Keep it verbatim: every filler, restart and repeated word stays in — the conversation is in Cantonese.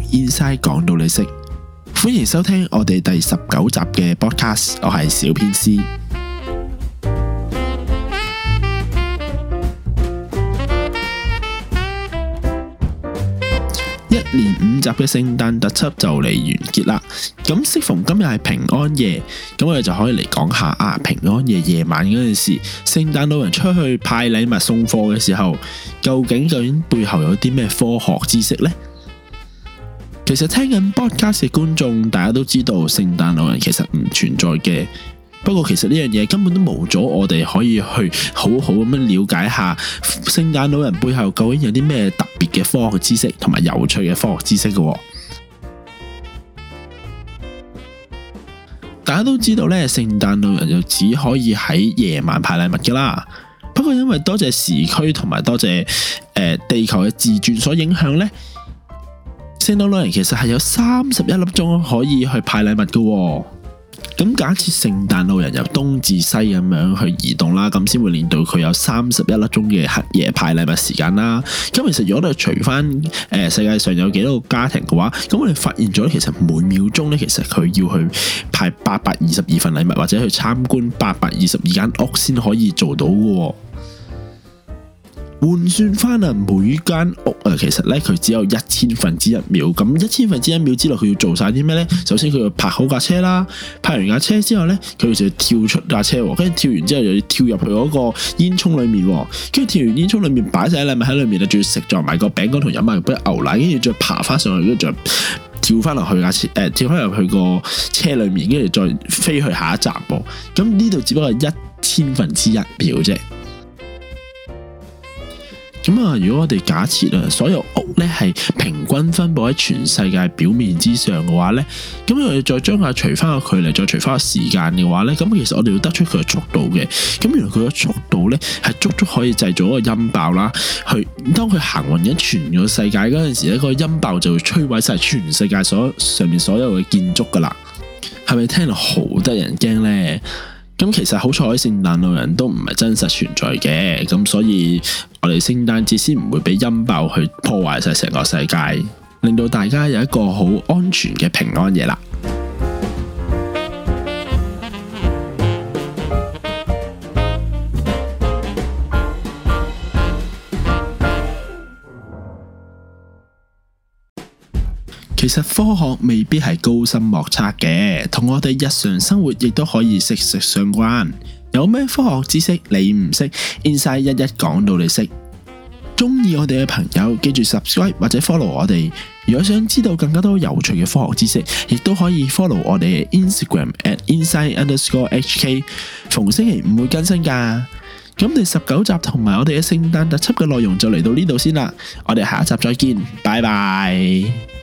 Inside 講到你識，歡迎收聽我哋第十九集嘅 podcast， 我係小編師。一連五集嘅聖誕特輯就嚟完結啦，咁適逢今日係平安夜，咁我哋就可以嚟講下啊平安夜夜晚嗰陣時，聖誕老人出去派禮物送貨嘅時候，究竟究竟背後有啲咩科學知識呢？其實聽緊 podcast 嘅觀眾，大家都知道聖誕老人其實唔存在嘅。不過其實呢樣嘢根本都冇咗，我哋可以去好好咁樣了解下聖誕老人背後究竟有啲咩特別嘅科學知識同埋有趣嘅科學知識嘅。大家都知道咧，聖誕老人就只可以喺夜晚派禮物噶啦。不過因為多謝時區同埋多謝誒、呃、地球嘅自轉所影響咧，聖誕老人其實係有三十一粒鐘可以去派禮物嘅。咁假設聖誕老人由東至西咁樣去移動啦，咁先會令到佢有三十一粒鐘嘅黑夜派禮物時間啦。咁其實如果我哋除翻誒世界上有幾多個家庭嘅話，咁我哋發現咗其實每秒鐘咧，其實佢要去派八百二十二份禮物，或者去參觀八百二十二間屋先可以做到嘅。換算翻啊，每間屋啊，其實咧佢只有一千分之一秒。咁一千分之一秒之內，佢要做晒啲咩呢？首先佢要泊好架車啦，泊完架車之後咧，佢就要跳出架車，跟住跳完之後又要跳入去嗰個煙囪裏面，跟住跳完煙囪裏面擺晒禮物喺裏面啊，仲要食咗埋個餅乾同飲埋杯牛奶，跟住再爬翻上去，跟住再跳翻落去架車，誒、呃，跳翻入去個車裏面，跟住再飛去下一站噃。咁呢度只不過係一千分之一秒啫。咁啊，如果我哋假設啊，所有屋咧係平均分布喺全世界表面之上嘅話咧，咁我哋再將佢除翻個距離，再除翻個時間嘅話咧，咁其實我哋要得出佢嘅速度嘅。咁原來佢嘅速度咧係足足可以製造一個音爆啦，去當佢行運緊全個世界嗰陣時咧，個音爆就會摧毀晒全世界所上面所有嘅建築噶啦。係咪聽到好得人驚咧？咁其實好彩聖誕老人都唔係真實存在嘅，咁所以我哋聖誕節先唔會俾音爆去破壞晒成個世界，令到大家有一個好安全嘅平安夜啦。其實科學未必係高深莫測嘅，同我哋日常生活亦都可以息息相關。有咩科學知識你唔識 ，Inside 一一講到你識。中意我哋嘅朋友記住 subscribe 或者 follow 我哋。如果想知道更加多有趣嘅科學知識，亦都可以 follow 我哋嘅 Instagram at inside underscore hk。逢星期五會更新噶。咁第十九集同埋我哋嘅聖誕特輯嘅內容就嚟到呢度先啦。我哋下一集再見，拜拜。